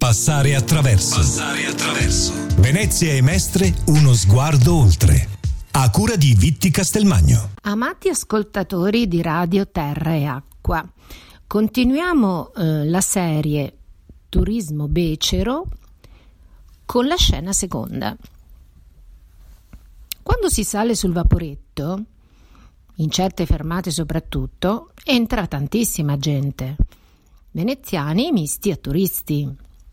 Passare attraverso. Passare attraverso. Venezia e Mestre, uno sguardo oltre. A cura di Vitti Castelmagno. Amati ascoltatori di Radio Terra e Acqua, continuiamo la serie Turismo Becero con la scena seconda. Quando si sale sul vaporetto, in certe fermate soprattutto, entra tantissima gente, veneziani misti a turisti.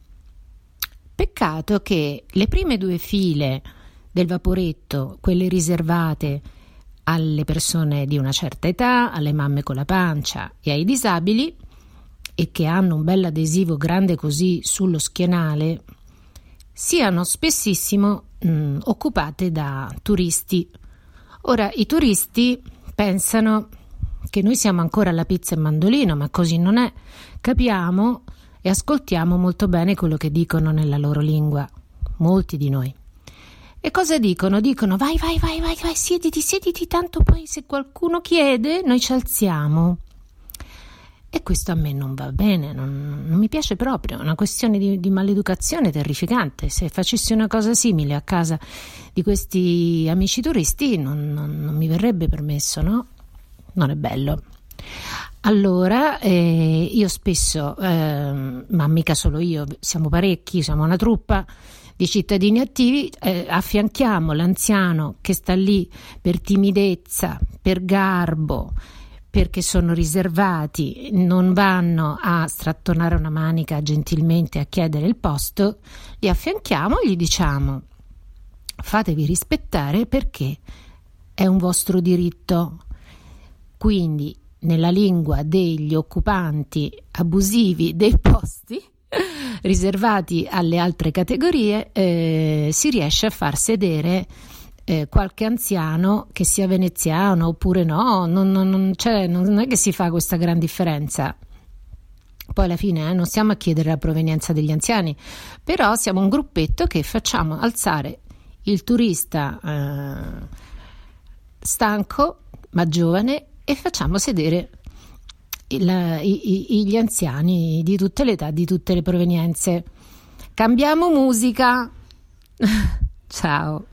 Peccato che le prime due file del vaporetto, quelle riservate alle persone di una certa età, alle mamme con la pancia e ai disabili, e che hanno un bel adesivo grande così sullo schienale, siano spessissimo occupate da turisti. Ora, i turisti pensano che noi siamo ancora alla pizza e mandolino, ma così non è. Capiamo e ascoltiamo molto bene quello che dicono nella loro lingua, molti di noi. E cosa dicono? Dicono vai, siediti, tanto poi se qualcuno chiede noi ci alziamo. E questo a me non va bene, non mi piace proprio, è una questione di maleducazione terrificante. Se facessi una cosa simile a casa di questi amici turisti non mi verrebbe permesso, no? Non è bello. Allora io spesso, ma mica solo io, siamo parecchi, siamo una truppa di cittadini attivi, affianchiamo l'anziano che sta lì per timidezza, per garbo, perché sono riservati, non vanno a strattonare una manica gentilmente a chiedere il posto, li affianchiamo e gli diciamo: fatevi rispettare perché è un vostro diritto. Quindi nella lingua degli occupanti abusivi dei posti riservati alle altre categorie si riesce a far sedere qualche anziano, che sia veneziano oppure no, non è che si fa questa gran differenza. Poi alla fine non stiamo a chiedere la provenienza degli anziani, però siamo un gruppetto che facciamo alzare il turista stanco ma giovane e facciamo sedere gli anziani di tutte le età, di tutte le provenienze. Cambiamo musica. Ciao.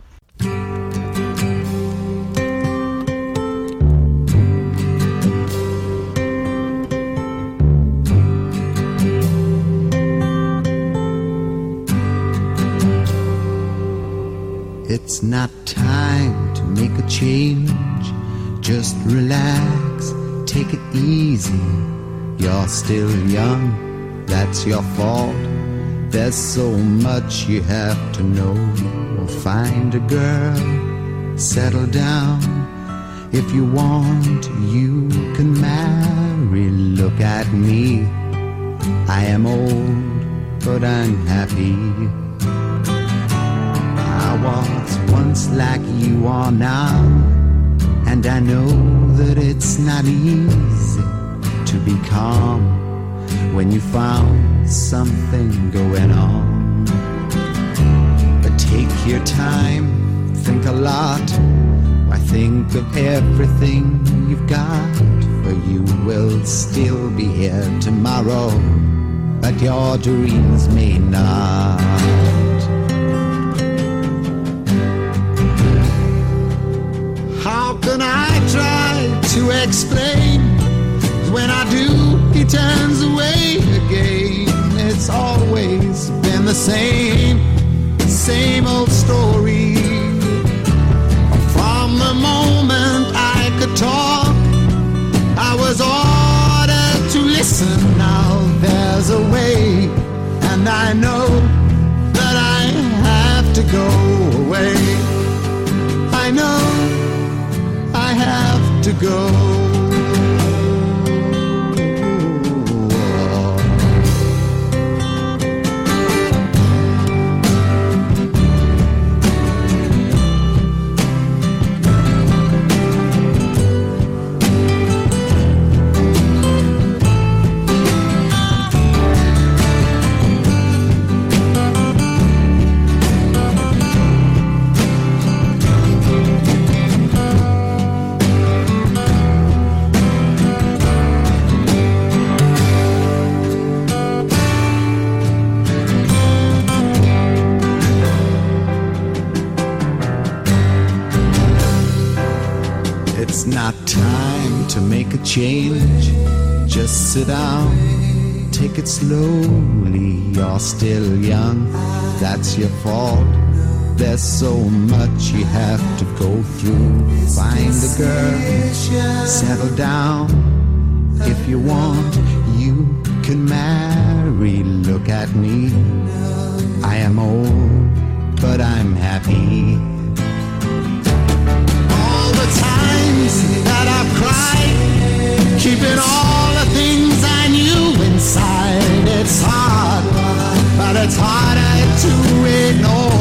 It's not time to make a change. Just relax, take it easy. You're still young, that's your fault. There's so much you have to know. Find a girl, settle down. If you want, you can marry. Look at me, I am old, but I'm happy. I was once like you are now, and I know that it's not easy to be calm when you found something going on. But take your time, think a lot. Why, think of everything you've got, for you will still be here tomorrow, but your dreams may not. How can I try to explain? When I do, he turns away again. It's always been the same old story. From the moment I could talk, I was ordered to listen. Now there's a way, and I know that I have to go away. I know I have to go. not time to make a change. Just sit down, take it slowly. You're still young, that's your fault. There's so much you have to go through. Find a girl, settle down. If you want, you can marry. Look at me, I am old, but I'm happy. All the times that I've cried, keeping all the things I knew inside. It's hard, but it's harder to ignore.